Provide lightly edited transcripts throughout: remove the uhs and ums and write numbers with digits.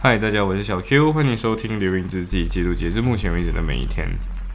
嗨，大家，我是小 Q，欢迎收听《流萤之记》，记录截至目前为止的每一天。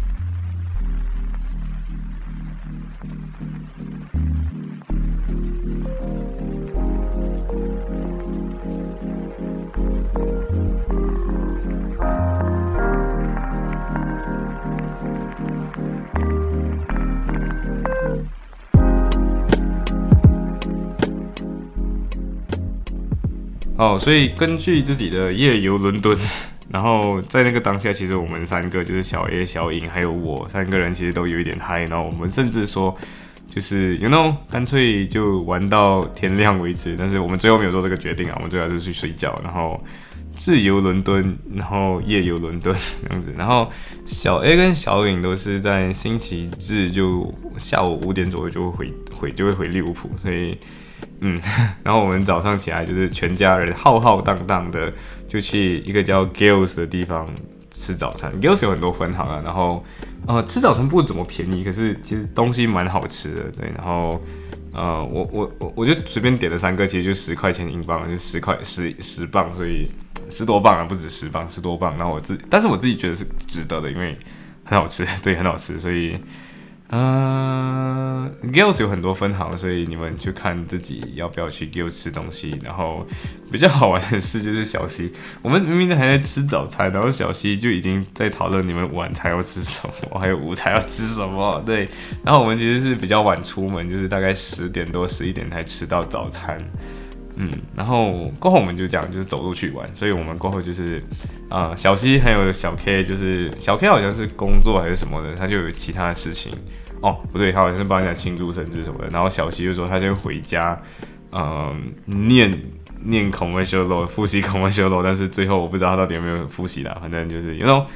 所以根据自己的夜游伦敦，然后在那个当下，其实我们三个就是小 A、小颖还有我三个人，其实都有一点嗨，然后我们甚至说，就是干脆就玩到天亮为止。但是我们最后没有做这个决定啊，我们最后就是去睡觉，然后自由伦敦，然后夜游伦敦这样子。然后小 A 跟小颖都是在星期日就下午5点左右就会回利物浦，所以。然后我们早上起来就是全家人浩浩荡荡的就去一个叫 Gills 的地方吃早餐。Gills 有很多分行啊，然后吃早餐不怎么便宜，可是其实东西蛮好吃的，对。然后我就随便点了3个，其实就10块钱英镑，就10磅，所以10多磅啊，不止10磅，10多磅。然后但是我自己觉得是值得的，因为很好吃，对，很好吃，所以。Gills 有很多分行，所以你们就看自己要不要去 Gills 吃东西。然后比较好玩的事就是小西，我们明明还在吃早餐，然后小西就已经在讨论你们晚餐要吃什么，还有午餐要吃什么。对，然后我们其实是比较晚出门，就是大概10点多、11点才吃到早餐。然后过后我们就讲就是走路去玩，所以我们过后就是小 C 还有小 K， 就是小 K 好像是工作还是什么的，他就有其他的事情不对，他好像是帮人家庆祝生日什么的。然后小 C 就说他就回家念 commercial law， 复习 commercial law， 但是最后我不知道他到底有没有复习啦，反正就是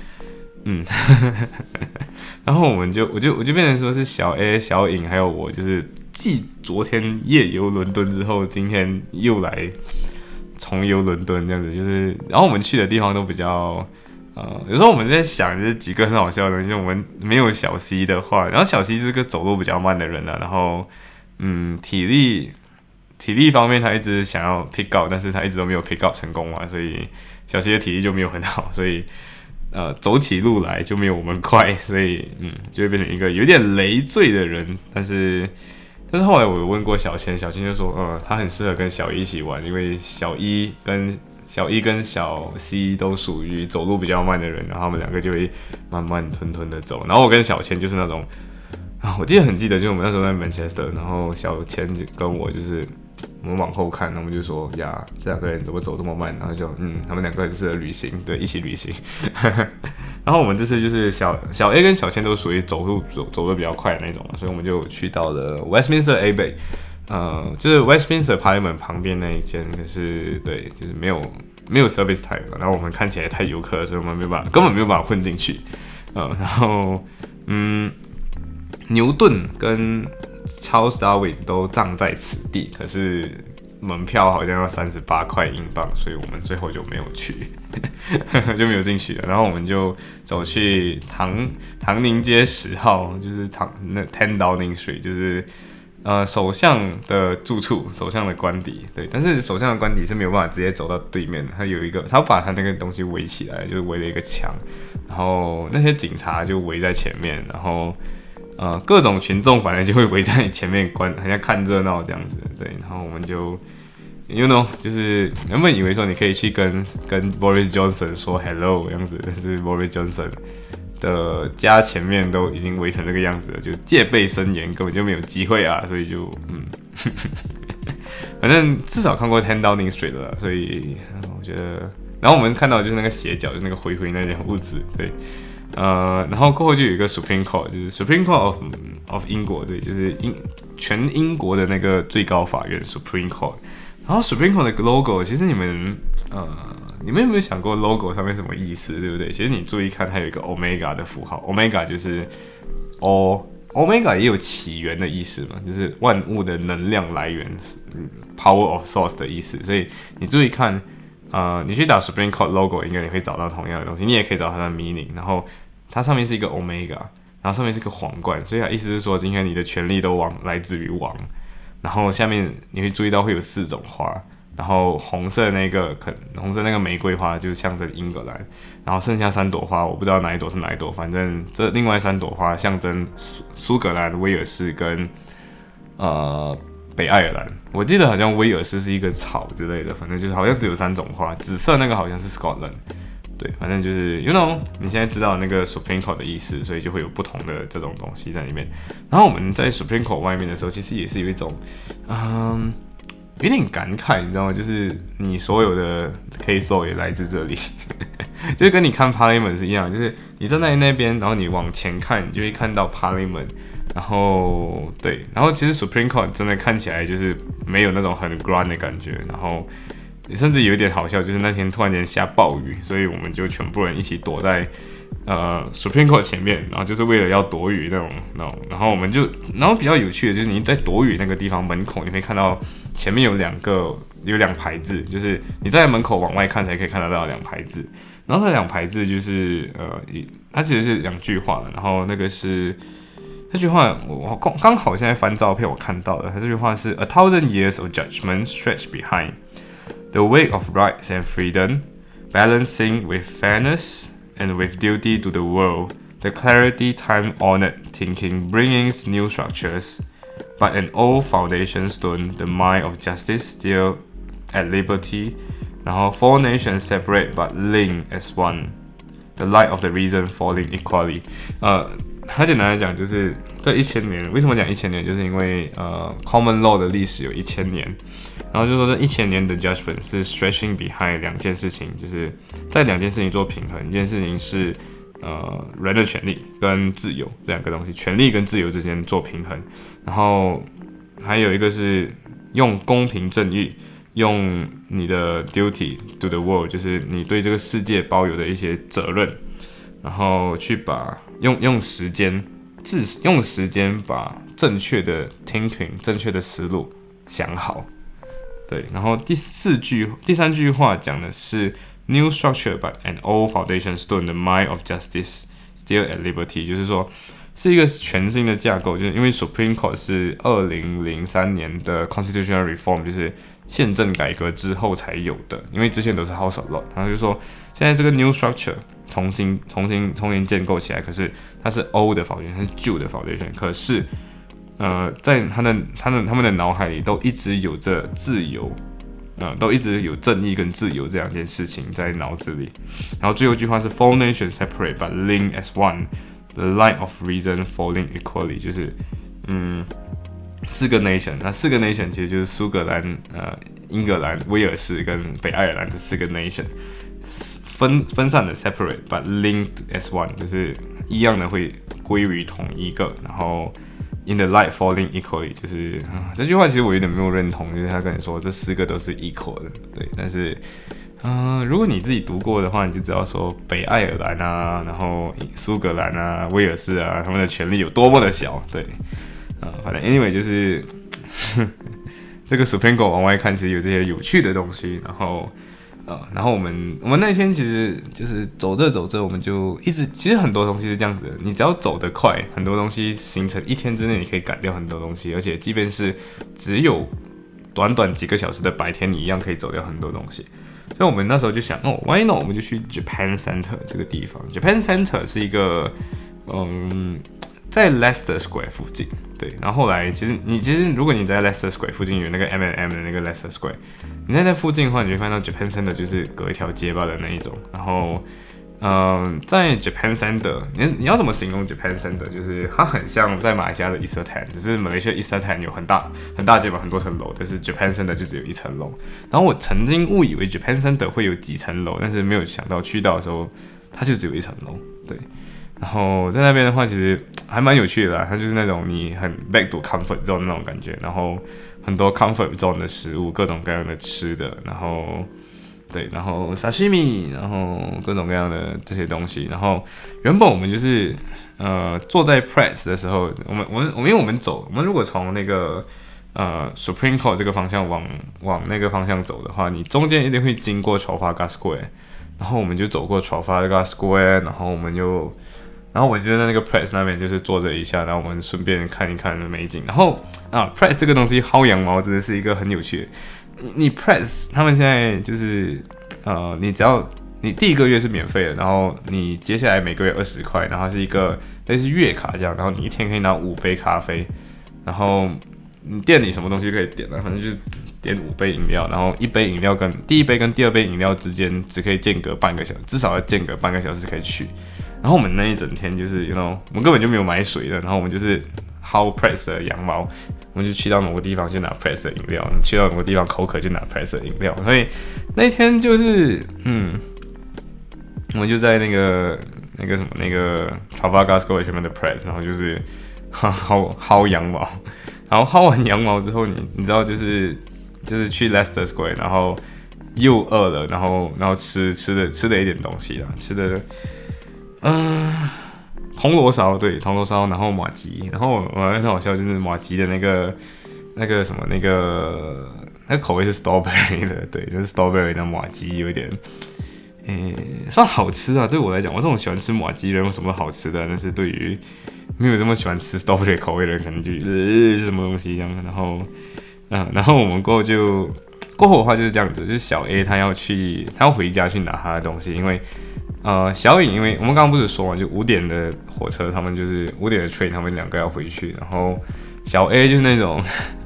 然后我就变成说是小 A、小颖还有我，就是继昨天夜游伦敦之后，今天又来重游伦敦这样子，就是然后我们去的地方都比较有时候我们在想就是几个很好笑的东西，我们没有小 C 的话，然后小 C 是个走路比较慢的人啊，然后体力方面他一直想要 pick up， 但是他一直都没有 pick up 成功嘛，所以小 C 的体力就没有很好，所以走起路来就没有我们快，所以就会变成一个有点累赘的人。但是后来我有问过小千，小千就说他很适合跟小一一起玩，因为小一跟小 C 都属于走路比较慢的人，然后他们两个就会慢慢吞吞的走。然后我跟小千就是那种我很记得，就是我们那时候在 Manchester， 然后小千跟我就是我们往后看，然后我们就说呀，这两个人怎么走这么慢？然后就他们两个很适合旅行，对，一起旅行。然后我们这次就是小 A 跟小千都属于走得比较快的那种，所以我们就去到了 Westminster Abbey，就是 Westminster Parliament 旁边那一间，可是对，就是没有 service time， 然后我们看起来太游客了，所以我们根本没有办法混进去。然后牛顿跟 Charles Darwin 都葬在此地，可是门票好像要38块英镑，所以我们最后就没有去，就没有进去了。然后我们就走去唐宁街10号，就是10 Downing Street， 就是首相的住处，首相的官邸。对，但是首相的官邸是没有办法直接走到对面的，他把他那个东西围起来，就是围了一个墙，然后那些警察就围在前面，然后各种群众反正就会围在你前面好像看热闹这样子，对。然后我们就就是原本以为说你可以去跟 Boris Johnson 说 hello 这样子，但是 Boris Johnson 的家前面都已经围成这个样子了，就戒备森严，根本就没有机会啊，所以就反正至少看过10 Downing Street 了，所以我觉得，然后我们看到就是那个斜角，就是那个灰那间屋子，对。然后过后就有一个 Supreme Court， 就是 Supreme Court of 英国，对，就是全英国的那个最高法院 Supreme Court。然后 Supreme Court 的 logo， 其实你们有没有想过 logo 上面什么意思，对不对？其实你注意看，它有一个 Omega 的符号 ，Omega 就是 Omega 也有起源的意思嘛，就是万物的能量来源，Power of Source 的意思。所以你注意看。你去打 Supreme Court logo， 应该你会找到同样的东西，你也可以找到它的 meaning。然后它上面是一个 Omega， 然后上面是一个皇冠，所以它意思是说，今天你的权力都来自于王。然后下面你会注意到会有4种花，然然后红色那个玫瑰花就是象征英格兰，然后剩下3朵花我不知道哪一朵是哪一朵，反正这另外3朵花象征苏格兰、威尔士跟北爱尔兰。我记得好像威尔士是一个草之类的，反正就是好像只有3种花，紫色那个好像是 Scotland。对，反正就是，you know， 你现在知道那个 Supreme Court 的意思，所以就会有不同的这种东西在里面。然后我们在 Supreme Court 外面的时候，其实也是有一种，有点感慨，你知道吗？就是你所有的 case law 也来自这里，就是跟你看 Parliament 是一样，就是你站在那边，然后你往前看，你就会看到 Parliament。然后对，然后其实 Supreme Court 真的看起来就是没有那种很 grand 的感觉，然后甚至有一点好笑，就是那天突然间下暴雨，所以我们就全部人一起躲在Supreme Court 前面，然后就是为了要躲雨那种，然后我们就，然后比较有趣的就是你在躲雨那个地方门口，你会看到前面有2排字，就是你在门口往外看才可以看得到2排字，然后那2排字就是它其实是2句话，然后那个是。这句话我刚好现在翻照片我看到了，它这句话是 A thousand years of judgment stretch behind the way of rights and freedom, balancing with fairness and with duty to the world. The clarity time-honored thinking brings new structures, but an old foundation stone, the mind of justice still at liberty. 然后 Four nations separate but linked as one. The light of the reason falling equally. 很简单来讲，就是这1000年，为什么讲1000年？就是因为common law 的历史有1000年，然后就说这1000年的 judgment 是 stretching behind 2件事情，就是在2件事情做平衡。一件事情是人的权利跟自由这2个东西，权利跟自由之间做平衡，然后还有一个是用公平正义，用你的 duty to the world， 就是你对这个世界抱有的一些责任。然后去把用时间把正确的 thinking 正确的思路想好，对。然后第3句话讲的是 new structure but an old foundation stone, the mind of justice still at liberty， 就是说是一个全新的架构，就是因为 Supreme Court 是2003年的 constitutional reform， 就是宪政改革之后才有的，因为之前都是 House of Lords， 然后就说现在这个 new structure 重新建构起来，可是它是 old 的 foundation， 它是旧的 foundation， 可是在他们的脑海里都一直有着自由，都一直有正义跟自由这2件事情在脑子里。然后最后一句话是 Four nations separate but linked as one, the light of reason falling equally， 就是4个 nation， 那4个 nation 其实就是苏格兰、英格兰、威尔士跟北爱尔兰这4个 nation， 分散的 separate but linked as one， 就是一样的会归于同一个，然后 in the light falling equally， 就是这句话其实我有点没有认同，就是他跟你说这4个都是 equal 的，对，但是如果你自己读过的话，你就知道说北爱尔兰啊，然后苏格兰啊、威尔士啊，他们的权力有多么的小，对。反正 anyway 就是这个 Supreme Court 往外看，其实有这些有趣的东西。然后我们那天其实就是走着，我们就一直，其实很多东西是这样子的，你只要走得快，很多东西形成1天之内你可以赶掉很多东西，而且即便是只有短几个小时的白天，你一样可以走掉很多东西。所以我们那时候就想，why not？ 我们就去 Japan Center 这个地方。Japan Center 是一个在 Leicester Square 附近，对。然后后来其实如果你在 Leicester Square 附近有那个 M&M 的那个 Leicester Square， 你在那附近的话，你会发现到 Japan Center 就是隔一条街吧的那一种。然后在 Japan Center， 你要怎么形容 Japan Center？ 就是它很像在马来西亚的 Isetan， 只是马来西亚 Isetan 有很大街吧，很多层楼，但是 Japan Center 就只有1层楼。然后我曾经误以为 Japan Center 会有几层楼，但是没有想到去到的时候，它就只有1层楼，对。然后在那边的话，其实还蛮有趣的啦。它就是那种你很 back to comfort zone 那种感觉，然后很多 comfort zone 的食物，各种各样的吃的，然后 sashimi， 然后各种各样的这些东西。然后原本我们就是坐在 press 的时候，因为我们如果从那个Supreme Court 这个方向往那个方向走的话，你中间一定会经过 Trafalgar Square， 然后我们就走过 Trafalgar Square， 然后我就在那个 press 那边就是坐着一下，然后我们顺便看一看美景。然后press 这个东西薅羊毛真的是一个很有趣的， 你 Press 他们现在就是你只要你第1个月是免费的，然后你接下来每个月20块，然后是一个类似月卡这样，然后你一天可以拿5杯咖啡，然后你店里什么东西可以点啊，反正就是点5杯饮料，然后1杯饮料跟第1杯跟第2杯饮料之间只可以间隔半个小时，至少要间隔半个小时可以去。然后我们那一整天就是我们根本就没有买水的，然后我们就是薅 Press 的羊毛，我们就去到某个地方就拿 Press 的饮料，去到某个地方口渴就拿 Press 的饮料，所以那一天就是我们就在那个 Trafalgar Square 前面的 Press， 然后就是薅羊毛，然后薅完羊毛之后，你知道就是去 Leicester Square， 然后又饿了，然后吃了一点东西啦，吃的铜锣烧，对，铜锣烧，然后麻糬，然后我很好笑，就是麻糬的那个什么那个口味是 strawberry 的，对，就是 strawberry 的麻糬有一点。算好吃啊，对我来讲，我这种喜欢吃麻糬人有什么好吃的？但是对于没有这么喜欢吃 strawberry 口味的人，可能就是什么东西这样。然后我们过后的话就是这样子，就是小 A 他要回家去拿他的东西，因为小颖因为我们刚刚不是说嘛，就5点的火车，他们就是5点的 train， 他们2个要回去，然后小 A 就是那种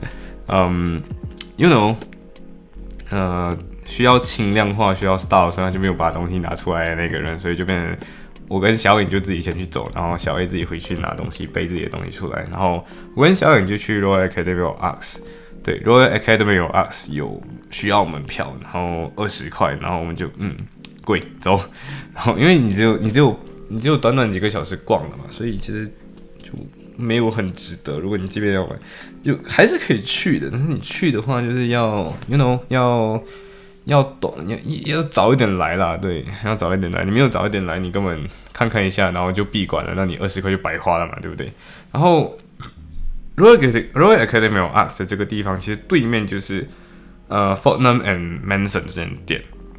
you know 需要轻量化，需要 style， 所以他就没有把东西拿出来的那个人，所以就变成我跟小颖就自己先去走，然后小 A 自己回去拿东西，背自己的东西出来，然后我跟小颖就去 Royal Academy of Arts， 对 Royal Academy of Arts 有需要门票，然后20块，然后我们就贵走，然后因为你只有短短几个小时逛了嘛，所以其实就没有很值得。如果你这边要买，就还是可以去的，但是你去的话就是要要懂，要早一点来啦，对，要早一点来。你没有早一点来，你根本看一下，然后就闭馆了，那你20块就白花了嘛，对不对？然后 Royal Academy of Arts 的这个地方，其实对面就是Fortnum and Mason 这间店，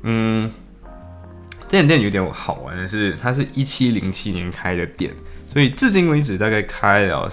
这间店有点好玩的是，它是1707年开的店，所以至今为止大概开了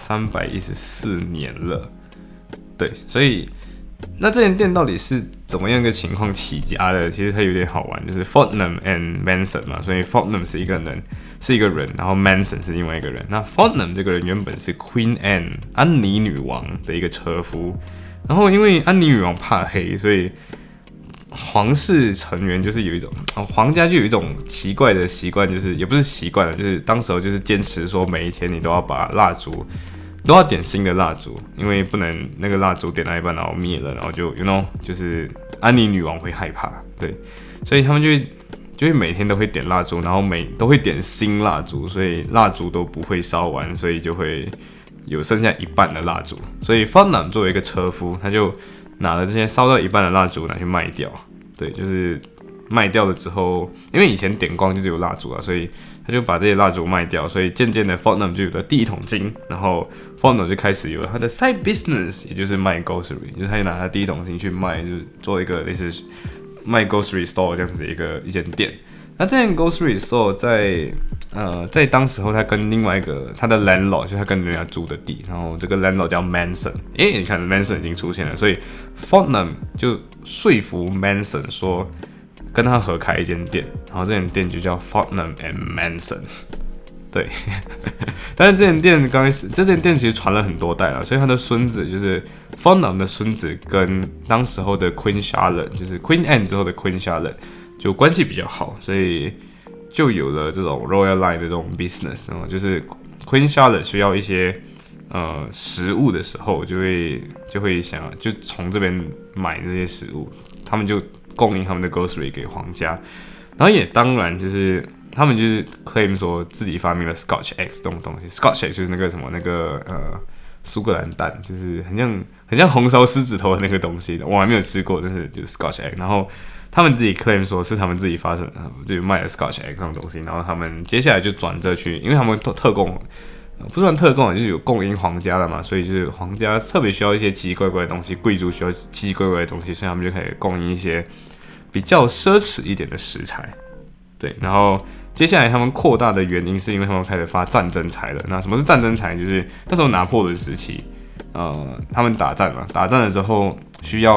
314年了，对，所以。那这间店到底是怎么样一个情况起家的？其实它有点好玩，就是 Fortnum and Manson 嘛，所以 Fortnum 是一个人，然后 Manson 是另外一个人。那 Fortnum 这个人原本是 Queen Anne 安妮女王的一个车夫，然后因为安妮女王怕黑，所以皇室成员就是有一种皇家就有一种奇怪的习惯，就是也不是习惯了，就是当时候就是坚持说每一天你都要把蜡烛。都要点新的蜡烛，因为不能那个蜡烛点到一半然后灭了，然后就就是安妮女王会害怕，对，所以他们就会每天都会点蜡烛，然后都会点新蜡烛，所以蜡烛都不会烧完，所以就会有剩下一半的蜡烛。所以 Fortnum 作为一个车夫，他就拿了这些烧到一半的蜡烛拿去卖掉，对，就是卖掉了之后，因为以前点光就是有蜡烛啊，所以他就把这些蜡烛卖掉，所以渐渐的 Fortnum 就有了第一桶金，然后 Fortnum 就开始有了他的 side business， 也就是卖 grocery， 就是他就拿他第一桶金去卖，就是做一个类似卖 grocery store 这样子一间店。那这间 grocery store 在当时候他跟另外一个他的 landlord， 就是他跟人家租的地，然后这个 landlord 叫 Manson， 你看 Manson 已经出现了，所以 Fortnum 就说服 Manson 说。跟他合开一间店，然后这间店就叫 Fortnum and Manson， 对，但是这间店刚开始，这间店其实传了很多代了，所以他的孙子就是 Fortnum 的孙子，跟当时候的 Queen Charlotte， 就是 Queen Anne 之后的 Queen Charlotte 就关系比较好，所以就有了这种 Royal Line 的这种 business， 然后就是 Queen Charlotte 需要一些食物的时候，就会想就从这边买这些食物，他们就。供应他们的 grocery 给皇家，然后也当然就是他们就是 claim 说自己发明了 Scotch eggs 这种东西 ，Scotch eggs 就是那个什么苏格兰蛋，就是很像红烧狮子头的那个东西的，我还没有吃过，但是就是 Scotch egg， 然后他们自己 claim 说是他们自己发生就卖了 Scotch egg 这种东西，然后他们接下来就转这去，因为他们特供。不算特供，就是有供应皇家的嘛，所以就是皇家特别需要一些奇奇怪怪的东西，贵族需要奇奇怪怪的东西，所以他们就可以供应一些比较奢侈一点的食材。对，然后接下来他们扩大的原因是因为他们开始发战争财了。那什么是战争财？就是那时候拿破仑时期，他们打战嘛，打战了之后需要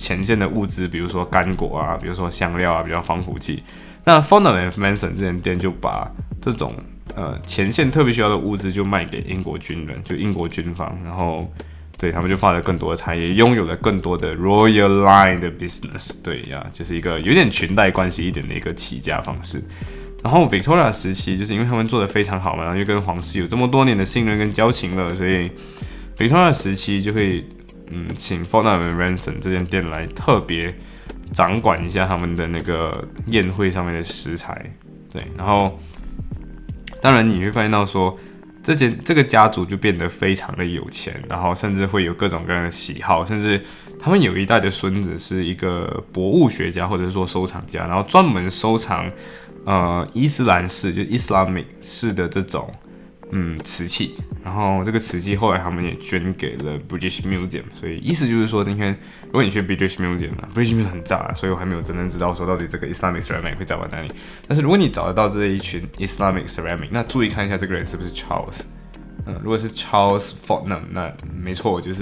前线的物资，比如说干果啊，比如说香料啊，比较防腐剂。那 Fortnum & Mason 这间店就把这种前线特别需要的物资就卖给英国军人，就英国军方，然后对他们就发了更多的产业，拥有了更多的 Royal Line 的 business， 对呀，就是一个有点裙带关系一点的一个起家方式。然后 Victoria 时期，就是因为他们做得非常好嘛，然后又跟皇室有这么多年的信任跟交情了，所以 Victoria 时期就会请 Fortnum & Mason 这间店来特别掌管一下他们的那个宴会上面的食材，对，然后当然你会发现到说，这个家族就变得非常的有钱，然后甚至会有各种各样的喜好，甚至他们有一代的孙子是一个博物学家或者是说收藏家，然后专门收藏伊斯兰式就 Islamic 式的这种瓷器，然后这个瓷器后来他们也捐给了 British Museum， 所以意思就是说，今天如果你去 British Museum 很炸，所以我还没有真正知道说到底这个 Islamic Ceramic 会在哪里。但是如果你找得到这一群 Islamic Ceramic， 那注意看一下这个人是不是 Charles。如果是 Charles Fortnum， 那没错，就是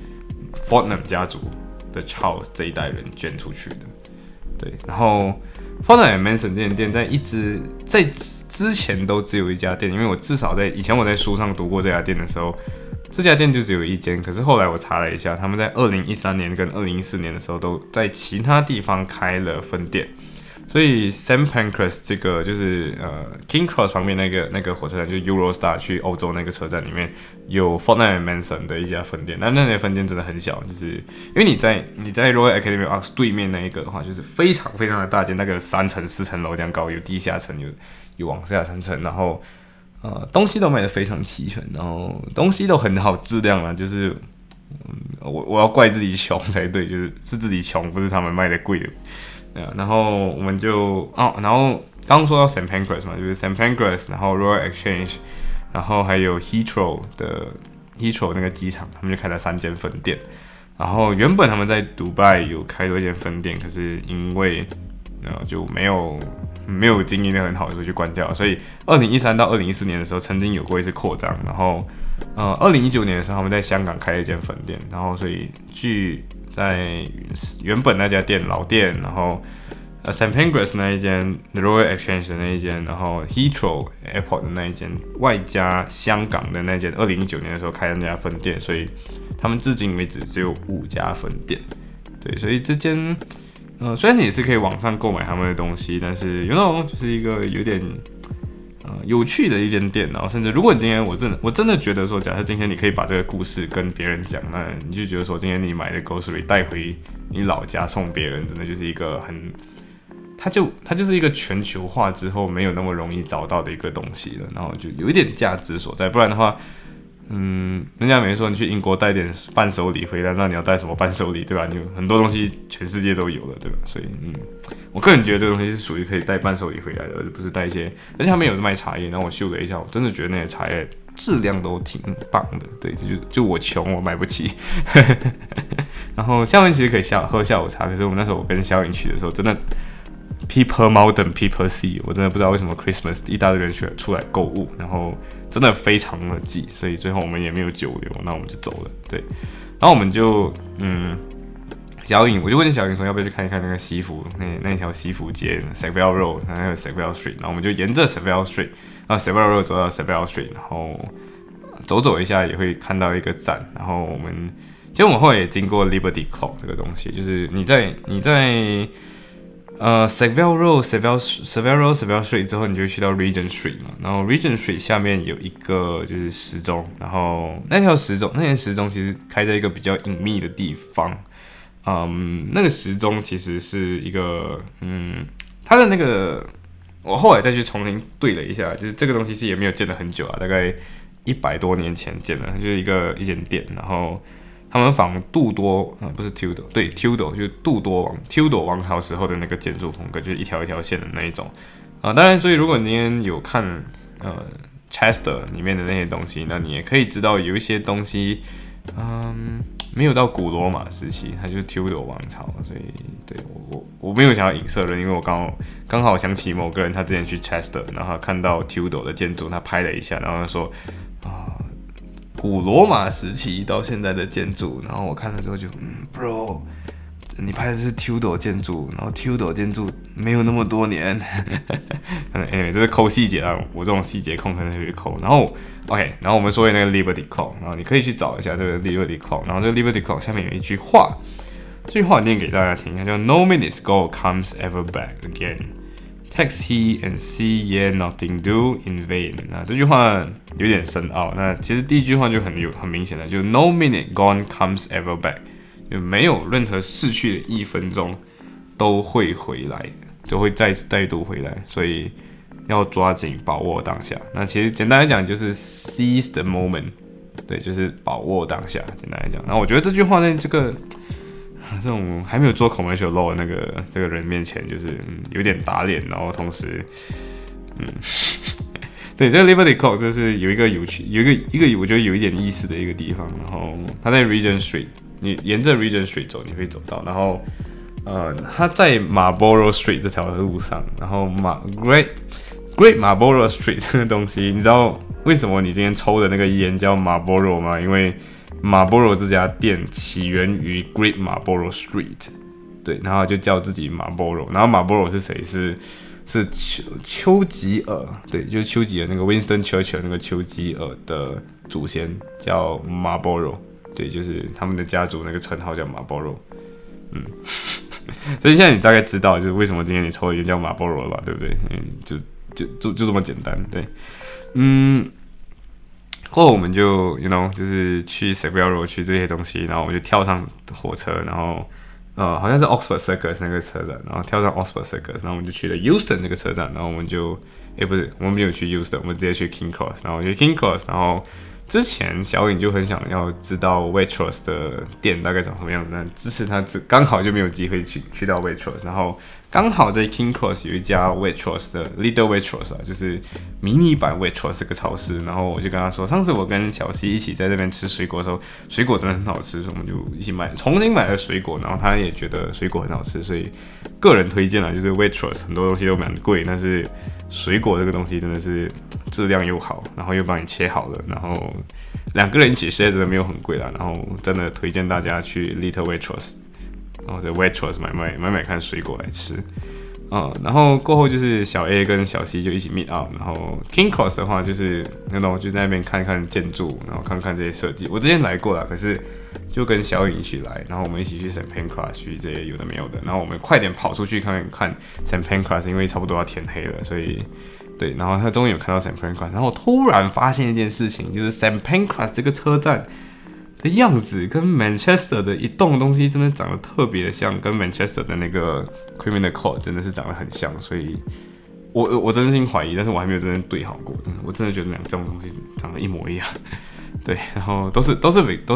Fortnum 家族的 Charles 这一代人捐出去的。对，然后 Fortnum & Mason 这间店在之前都只有一家店，因为我至少以前我在书上读过这家店的时候，这家店就只有一间。可是后来我查了一下，他们在2013年跟2014年的时候都在其他地方开了分店。所以 St. Pancras 这个就是King Cross 旁边那个火车站，就是 Eurostar 去欧洲那个车站里面有 Fortnum & Mason 的一家分店。那些分店真的很小，就是因为你在 Royal Academy of Arts 对面那一个的话，就是非常非常的大间，那个3层4层楼这样高，有地下层有往下3层，然后东西都卖得非常齐全，然后东西都很好质量啦，就是我要怪自己穷才对，就是自己穷，不是他们卖的贵的。然后我们就然后刚刚说到 St. Pancras 嘛，就是 St. Pancras， 然后 Royal Exchange， 然后还有 Heathrow 那个机场，他们就开了3间分店。然后原本他们在迪拜有开多一间分店，可是因为就没有经营的很好，所以就关掉了。所以2013到2014年的时候，曾经有过一次扩张。然后2019年的时候，他们在香港开了一间分店。然后所以据在原本那家店老店，然后St. Pancras 那一间 Royal Exchange 的那一间，然后 Heathrow Airport 的那一间，外加香港的那间2019年的时候开的那家分店，所以他们至今为止只有5家分店。对，所以这间虽然你也是可以网上购买他们的东西，但是就是一个有点有趣的一间店。然后甚至如果你今天我真的觉得说，假设今天你可以把这个故事跟别人讲，那你就觉得说今天你买的 grocery 带回你老家送别人，真的就是一个它就是一个全球化之后没有那么容易找到的一个东西了，然后就有一点价值所在。不然的话人家没说你去英国带点伴手礼回来，那你要带什么伴手礼，对吧？你很多东西全世界都有了，对吧？所以我个人觉得这个东西是属于可以带伴手礼回来的，而不是带一些。而且他们有卖茶叶，然后我嗅了一下，我真的觉得那些茶叶质量都挺棒的。对，就我穷，我买不起。然后下面其实可以喝下午茶，可是我们那时候我跟小颖去的时候，真的 people modern people see， 我真的不知道为什么 Christmas 一大堆人出来购物，然后真的非常的挤，所以最后我们也没有久留，那我们就走了。对，然后我们就小颖，我就问小颖说要不要去看一看那个西服那一条西服街 Sackville Road， 然后还有 Sackville Street， 然后我们就沿着 Sackville Street， 然后 Sackville Road 走到 Sackville Street， 然后走一下也会看到一个站，然后其实我们后来也经过 Liberty Club 这个东西，就是你在Sackville Road、Sackville Street 之后，你就会去到 Regent Street 嘛。然后 Regent Street 下面有一个就是时钟，然后那条时钟其实开在一个比较隐秘的地方。那个时钟其实是一个它的那个，我后来再去重新对了一下，就是这个东西是也没有建了很久啊，大概100多年前建的，就是一间店，然后他们仿杜多不是 Tudor， 对 Tudor 就是Tudor 王朝时候的那个建筑风格，就是一条一条线的那一种当然，所以如果你今天有看Chester 里面的那些东西，那你也可以知道有一些东西没有到古罗马时期，它就是 Tudor 王朝，所以对我没有想要影射人，因为我刚好想起某个人，他之前去 Chester， 然后他看到 Tudor 的建筑，他拍了一下，然后他说古罗马时期到现在的建筑，然后我看了之后就bro， 你拍的是 Tudor 建筑，然后 Tudor 建筑没有那么多年，anyway 这是抠细节啊，我这种细节控可能会抠。然后 OK， 然后我们说的那个 Liberty Clock， 然后你可以去找一下这个 Liberty Clock， 然后这个 Liberty Clock 下面有一句话，这句话念给大家听，它叫 No minutes go comes ever back again。Text he and see ye nothing do in vain。那这句话有点深奥。那其实第一句话就很明显的，就 No minute gone comes ever back， 就没有任何逝去的1分钟都会回来，就会再度回来。所以要抓紧把握当下。那其实简单来讲就是 seize the moment， 对，就是把握当下。简单来讲，那我觉得这句话呢，这种还没有做 commercial law 的这个人面前，就是有点打脸，然后同时，对，这个 Liberty Clock 就是有一个有趣，有一个我觉得有一点意思的一个地方，然后它在 Regent Street， 你沿着 Regent Street 走，你会走到，然后它在 Marlborough Street 这条路上，然后Great Marlborough Street 这个东西，你知道为什么你今天抽的那个烟叫 Marlborough 吗？因为Marlboro 这家店起源于 Great Marlborough Street， 对，然后就叫自己 Marlboro， 然后 Marlboro 是谁？是丘吉尔，对，就是丘吉尔那个 Winston Churchill 那个丘吉尔的祖先叫 Marlboro， 对，就是他们的家族那个称号叫 Marlboro， 所以现在你大概知道就是为什么今天你抽的烟叫 Marlboro 了吧，对不对？就这么简单，对，过后我们就 就是去 Savile Row 去这些东西，然后我们就跳上火车，然后好像是 Oxford Circus 那个车站，然后跳上 Oxford Circus， 然后我们就去了 Euston 那个车站，然后我们就不是，我们没有去 Euston， 我们直接去 King Cross， 然后我去 King Cross， 然后之前小颖就很想要知道 Waitrose 的店大概长什么样子，但支持他刚好就没有机会去到 Waitrose， 然后刚好在 King Cross 有一家 Waitrose 的 Little Waitrose 啊，就是迷你版 Waitrose 这个超市，然后我就跟他说，上次我跟小西一起在这边吃水果的时候，水果真的很好吃，所以我们就一起重新买了水果，然后他也觉得水果很好吃，所以个人推荐啦，就是 Waitrose 很多东西都蛮贵，但是水果这个东西真的是质量又好，然后又帮你切好了，然后2个人一起吃真的没有很贵啦，然后真的推荐大家去 Little Waitrose， 然后在 Waitrose 买看水果来吃，然后过后就是小 A 跟小 C 就一起 meet up， 然后 King Cross 的话就是那种就在那边看看建筑，然后看看这些设计。我之前来过啦，可是就跟小颖一起来，然后我们一起去 St Pancras 去这些有的没有的，然后我们快点跑出去看 St Pancras， 因为差不多要天黑了，所以对，然后他终于有看到 St Pancras， 然后我突然发现一件事情，就是 St Pancras 这个车站的样子跟 Manchester 的一栋东西真的长得特别的像，跟 Manchester 的那个 Criminal Court 真的是长得很像，所以我真心怀疑，但是我还没有真正对好过，我真的觉得这种东西长得一模一样，对，然后都是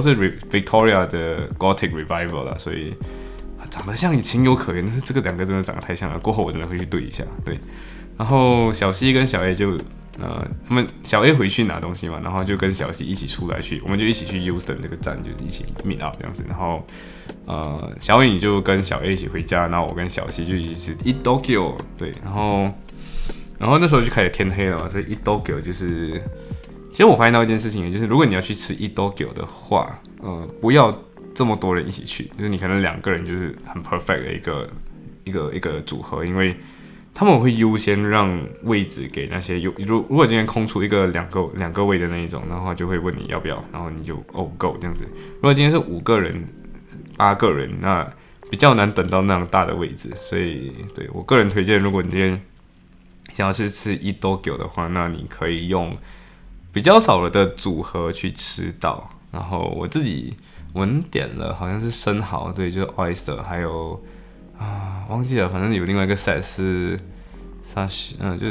Victoria 的 Gothic Revival 啦，所以长得像情有可原，但是这个2个真的长得太像了，过后我真的会去对一下，对，然后小 C 跟小 A 就他们小 A 回去拿东西嘛，然后就跟小 C 一起出来去，我们就一起去 Euston 这个站，就一起 meet up 这样子。然后小颖就跟小 A 一起回家，然后我跟小 C 就一起吃 Eat Tokyo， 对，然后那时候就开始天黑了嘛，所以 Eat Tokyo 就是，其实我发现到一件事情，也就是如果你要去吃 Eat Tokyo 的话，不要这么多人一起去，就是你可能2个人就是很 perfect 的一个组合，因为他们会优先让位置给那些如果今天空出两个位的那一种，然后就会问你要不要，然后你就go 这样子。如果今天是5个人、8个人，那比较难等到那样大的位置，所以对我个人推荐，如果你今天想要去吃 Eat Tokyo 的话，那你可以用比较少的组合去吃到。然后我们点了好像是生蚝，对，就是 oyster， 还有。忘记了，反正有另外一个 set 是就是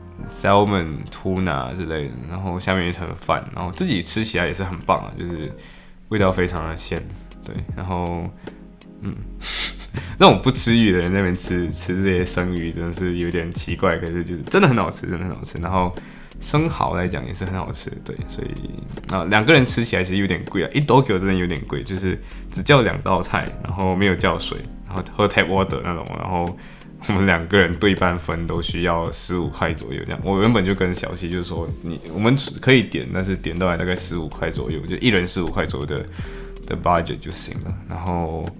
salmon tuna 之类的，然后下面一层饭，然后自己吃起来也是很棒啊，就是味道非常的鲜，对，然后那种不吃鱼的人在那边吃这些生鱼真的是有点奇怪，可是就是真的很好吃，真的很好吃，然后生蚝来讲也是很好吃，对，所以2个人吃起来其实有点贵啊，1 Tokyo 真的有点贵，就是只叫2道菜，然后没有叫水，然后喝 tap water 那种，然后我们2个人对半分都需要15块左右这样。我原本就跟小西就是说，我们可以点，但是点到来大概15块左右，就1人15块左右的 budget 就行了。然后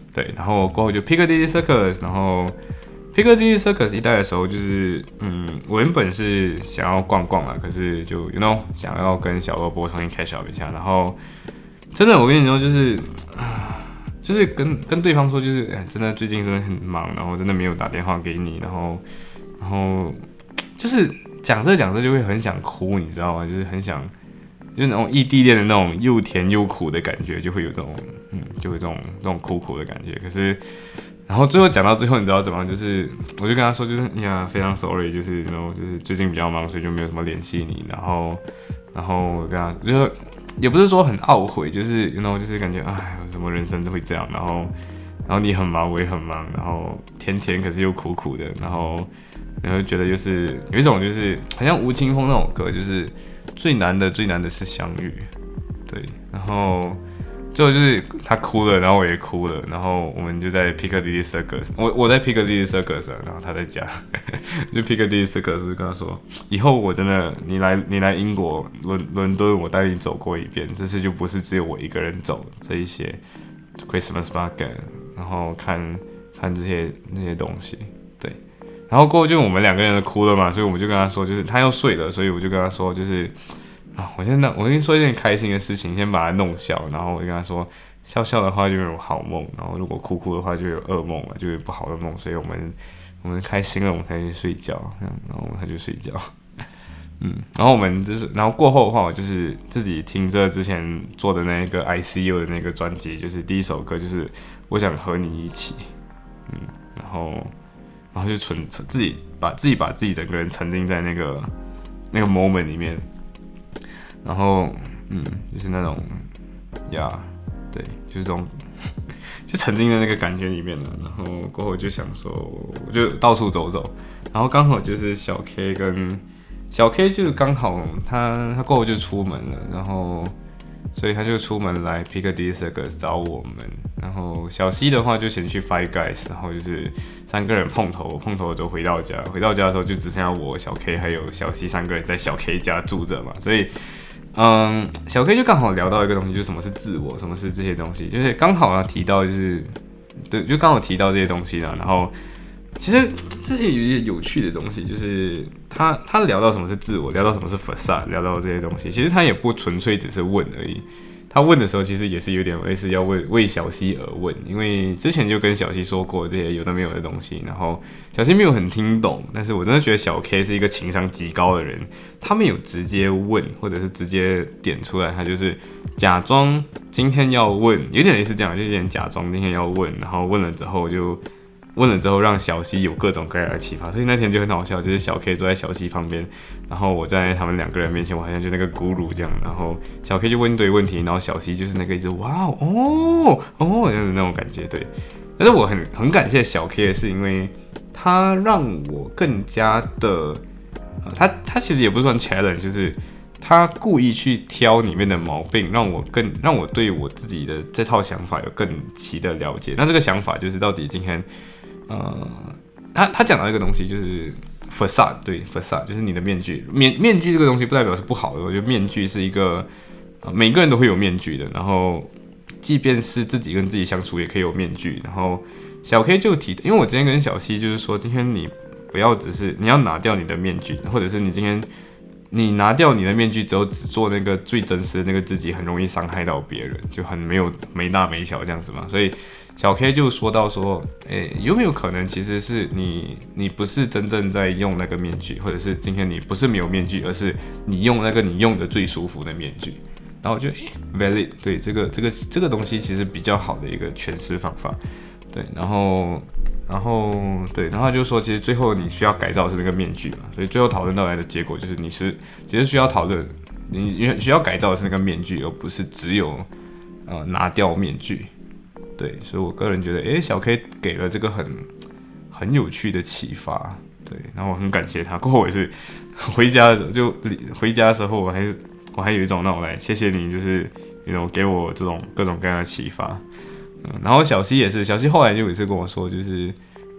对，然后过后就 Piccadilly Circus， 然后 Piccadilly Circus 一带的时候，就是我原本是想要逛逛啦，可是就想要跟小萝卜重新 catch up 一下，然后真的我跟你说就是跟对方说就是真的最近真的很忙，然后真的没有打电话给你，然后就是讲着就会很想哭，你知道吗？就是很想。就是那种异地恋的那种又甜又苦的感觉，就会有这种就会这种苦的感觉。可是，然后最后讲到最后，你知道怎么样？就是我就跟他说，就是非常 sorry，就是就是最近比较忙，所以就没有什么联系你。然后我跟他就是也不是说很懊悔，就是就是感觉什么人生都会这样。然后你很忙，我也很忙，然后甜可是又苦的，然后觉得就是有一种就是好像吴青峰那种歌，就是最难的是相遇，对，然后最后就是他哭了，然后我也哭了，然后我们就在 Piccadilly Circus， 我在 Piccadilly Circus， 然后他在家，就 Piccadilly Circus， 我就跟他说，以后我真的你来英国伦敦，我带你走过一遍，这次就不是只有我一个人走这一些 Christmas market， 然后看这些那些东西，对。然后过后就我们两个人都哭了嘛，所以我们就跟他说，就是他要睡了，所以我就跟他说，就是我跟你说一件开心的事情，先把他弄笑，然后我就跟他说，笑的话就有好梦，然后如果哭的话就有噩梦了，就有不好的梦，所以我们开心了，我们才去睡觉，然后他就睡觉，然后我们然后过后的话，我就是自己听着之前做的那个 ICU 的那个专辑，就是第一首歌就是我想和你一起，然后就自己把自己整个人沉浸在那个 moment 里面，然后就是那种对，就是这种就沉浸在那个感觉里面了。然后过后就想说，我就到处走走，然后刚好就是小 K 就是刚好他过后就出门了，然后所以他就出门来 Piccadilly Circus 找我们。然后小西的话就先去 Five Guys， 然后就是3个人碰头之后回到家的时候就只剩下我、小 K 还有小西3个人在小 K 家住着嘛，所以小 K 就刚好聊到一个东西，就是什么是自我，什么是这些东西，就是刚好提到就是对，就刚好提到这些东西啦。然后其实这些有一些有趣的东西，就是他聊到什么是自我，聊到什么是 facade， 聊到这些东西，其实他也不纯粹只是问而已。他问的时候，其实也是有点类似要为小西而问，因为之前就跟小西说过这些有的没有的东西，然后小西没有很听懂，但是我真的觉得小 K 是一个情商极高的人，他没有直接问，或者是直接点出来，他就是假装今天要问，有点类似这样，就有点假装今天要问，然后问了之后让小西有各种各样的启发，所以那天就很好笑，就是小 K 坐在小西旁边，然后我在他们2个人面前，我好像就那个咕噜这样，然后小 K 就问一堆问题，然后小西就是那个一直哇哦这样子那种感觉，对。但是我很感谢小 K 的是，因为他让我更加的，他其实也不算 challenge， 就是他故意去挑里面的毛病，让我对我自己的这套想法有更齐的了解。那这个想法就是到底今天。他讲到一个东西，就是 facade， 对 facade 就是你的面具。面具这个东西不代表是不好的，我觉得面具是一个每个人都会有面具的，然后即便是自己跟自己相处也可以有面具。然后小 K 就提，因为我之前跟小西就是说，今天你不要只是你要拿掉你的面具，或者是你今天你拿掉你的面具之后，只做那个最真实的那个自己，很容易伤害到别人，就很没大没小这样子嘛。所以小 K 就说到说，有没有可能其实是你不是真正在用那个面具，或者是今天你不是没有面具，而是你用那个你用的最舒服的面具。然后我觉得valid， 对这个东西其实比较好的一个诠释方法，对，然后他就说，其实最后你需要改造的是那个面具嘛，所以最后讨论到来的结果就是其实需要讨论，你需要改造的是那个面具，而不是只有拿掉面具。对，所以我个人觉得，小 K 给了这个很有趣的启发，对，然后我很感谢他。过后我也是回家的时候，我还有一种那种来谢谢你，就是给我这种各种各样的启发。然后小西也是，小西后来就有一次跟我说，就是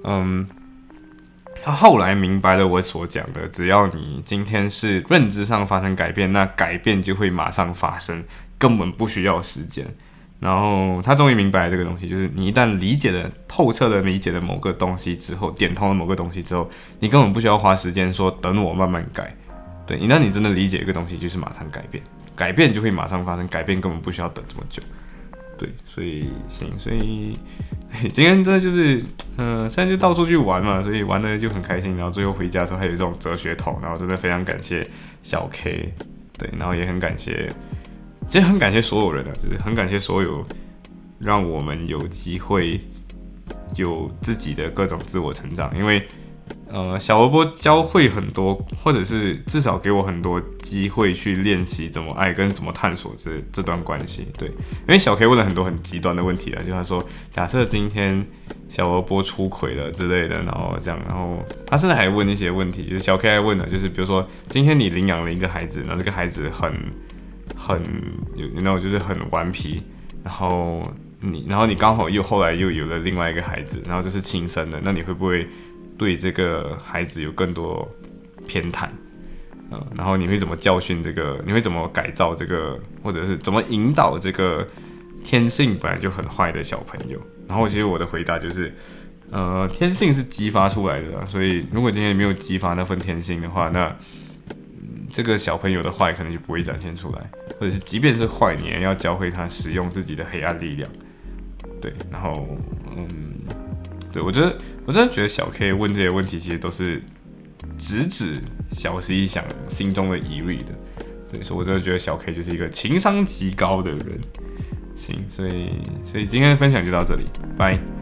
他后来明白了我所讲的，只要你今天是认知上发生改变，那改变就会马上发生，根本不需要时间。 然后他终于明白了这个东西，就是你一旦理解了透彻的理解了某个东西之后，点通了某个东西之后，你根本不需要花时间说等我慢慢改。对，一旦你真的理解一个东西，就是马上改变，改变就会马上发生，改变根本不需要等这么久。对，所以今天真的就是，虽然就到处去玩嘛，所以玩的就很开心，然后最后回家的时候还有这种哲学头，然后真的非常感谢小 K， 对，然后也很感谢。其实很感谢所有人啊，就是很感谢所有让我们有机会有自己的各种自我成长，因为小萝卜教会很多，或者是至少给我很多机会去练习怎么爱跟怎么探索这段关系。对，因为小 K 问了很多很极端的问题啊，就他说，假设今天小萝卜出轨了之类的，然后这样，然后他甚至还问一些问题，就是小 K 还问的，就是比如说今天你领养了一个孩子，然后这个孩子就是很顽皮，然后你刚好后来又有了另外一个孩子，然后这是亲生的，那你会不会对这个孩子有更多偏袒？然后你会怎么教训这个？你会怎么改造这个？或者是怎么引导这个天性本来就很坏的小朋友？然后其实我的回答就是，天性是激发出来的啦，所以如果今天没有激发那份天性的话，那这个小朋友的坏可能就不会展现出来，或者是即便是坏，你也要教会他使用自己的黑暗力量。对，然后对我真的觉得小 K 问这些问题，其实都是直指小 C 想心中的疑虑的。对，所以我真的觉得小 K 就是一个情商极高的人。行，所以今天的分享就到这里，拜。